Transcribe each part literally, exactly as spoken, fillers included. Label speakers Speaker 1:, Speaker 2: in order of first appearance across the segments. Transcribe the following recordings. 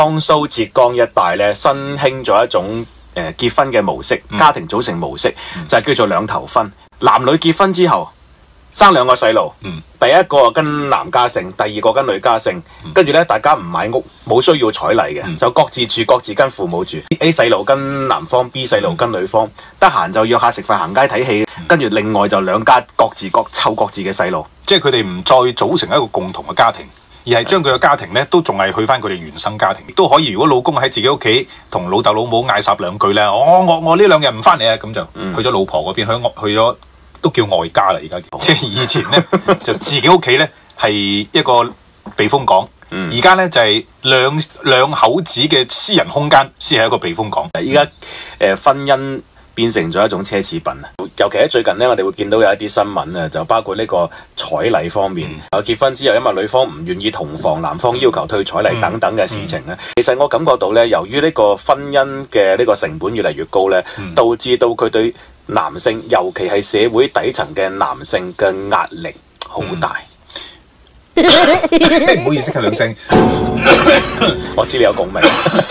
Speaker 1: 江蘇浙江一帶咧新興咗一種誒結婚嘅模式，家庭組成模式、嗯、就係叫做兩頭婚。男女結婚之後生兩個細路，嗯、第一個跟男家姓，第二個跟女家姓，跟住咧大家唔買屋，冇需要彩禮嘅，嗯、就各自住，各自跟父母住。A 細路跟男方 ，B 細路跟女方，得閒、嗯、就約下食飯、行街、睇戲，跟住、嗯、另外就兩家各自各湊各自嘅細路，
Speaker 2: 即係佢哋唔再組成一個共同嘅家庭。而係將佢嘅家庭咧，都仲係去翻佢哋原生家庭，亦都可以。如果老公喺自己屋企同老豆老母嗌霎兩句咧，哦，我我呢兩日唔翻嚟啊，咁就去咗老婆嗰邊，去去咗都叫外家啦。而家、嗯、即係以前咧就自己屋企咧係一個避風港，而家咧就係、是、兩兩口子嘅私人空間先係一個避風港。
Speaker 1: 依家誒婚姻變成咗一種奢侈品啊！尤其喺最近咧，我哋會見到有一啲新聞啊，就包括呢個彩禮方面，啊、嗯、結婚之後，因為女方唔願意同房，男方要求退彩禮等等嘅事情咧，嗯嗯、其實我感覺到咧，由於呢個婚姻嘅呢個成本越嚟越高咧，嗯、導致到佢對男性，尤其係社會底層嘅男性嘅壓力好大。
Speaker 2: 唔、嗯、好意思，咳兩聲，
Speaker 1: 我知你有共鳴。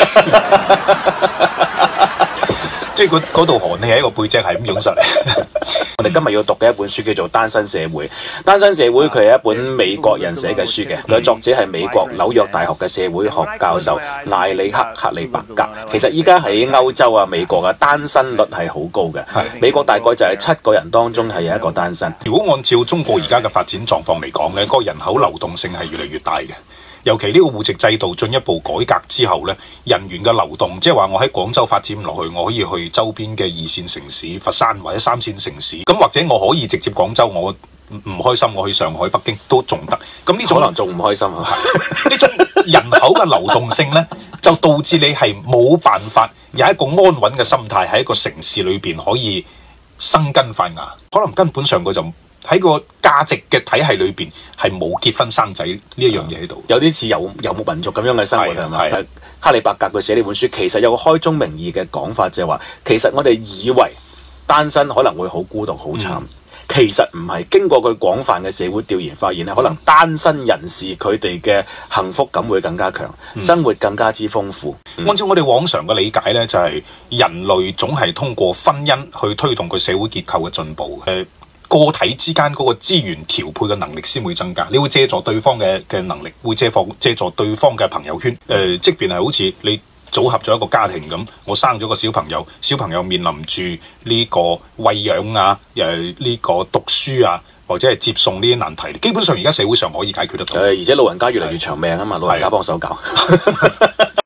Speaker 2: 即係嗰度寒氣喺個背脊係咁湧實嚟。
Speaker 1: 我哋今日要讀嘅一本書叫做《單身社會》。《單身社會》佢係一本美國人寫嘅書嘅，佢嘅作者係美國紐約大學嘅社會學教授艾里克克里伯格。其實依家喺歐洲啊、美國啊，單身率係好高嘅。美國大概就係七個人當中係有一個單身。
Speaker 2: 如果按照中國而家嘅發展狀況嚟講咧，嗰個人口流動性係越嚟越大嘅。尤其呢個戶籍制度進一步改革之後咧，人員嘅流動，即係話我喺廣州發展唔落去，我可以去周邊嘅二線城市佛山或者三線城市，咁或者我可以直接廣州，我唔開心我去上海、北京都仲得。咁呢種
Speaker 1: 可能仲唔開心啊？
Speaker 2: 呢種人口嘅流動性咧，就導致你係冇辦法有一個安穩嘅心態喺一個城市裏邊可以生根發芽，可能根本上佢就喺個價值嘅體系裏邊係冇結婚生仔呢一樣嘢喺度，
Speaker 1: 有啲似遊遊牧民族咁樣嘅生活係咪？係克里伯格佢寫呢本書，其實有個開宗明義嘅講法，就係話其實我哋以為單身可能會好孤獨好慘，嗯、其實唔係。經過佢廣泛嘅社會調研發現咧，可能單身人士佢哋嘅幸福感會更加強，嗯、生活更加之豐富。
Speaker 2: 嗯、按照我哋往常嘅理解咧，就係、是、人類總係通過婚姻去推動佢社會結構嘅進步。誒。個體之間嗰個資源調配嘅能力先會增加，你會借助對方嘅嘅能力，會借放借助對方嘅朋友圈。誒、呃，即便係好似你組合咗一個家庭咁，我生咗個小朋友，小朋友面臨住呢個餵養啊，誒、呃、呢、呢個讀書啊，或者係接送呢啲難題，基本上而家社會上可以解決得到。誒、
Speaker 1: 呃，而且老人家越嚟越長命啊嘛，老人家幫手搞。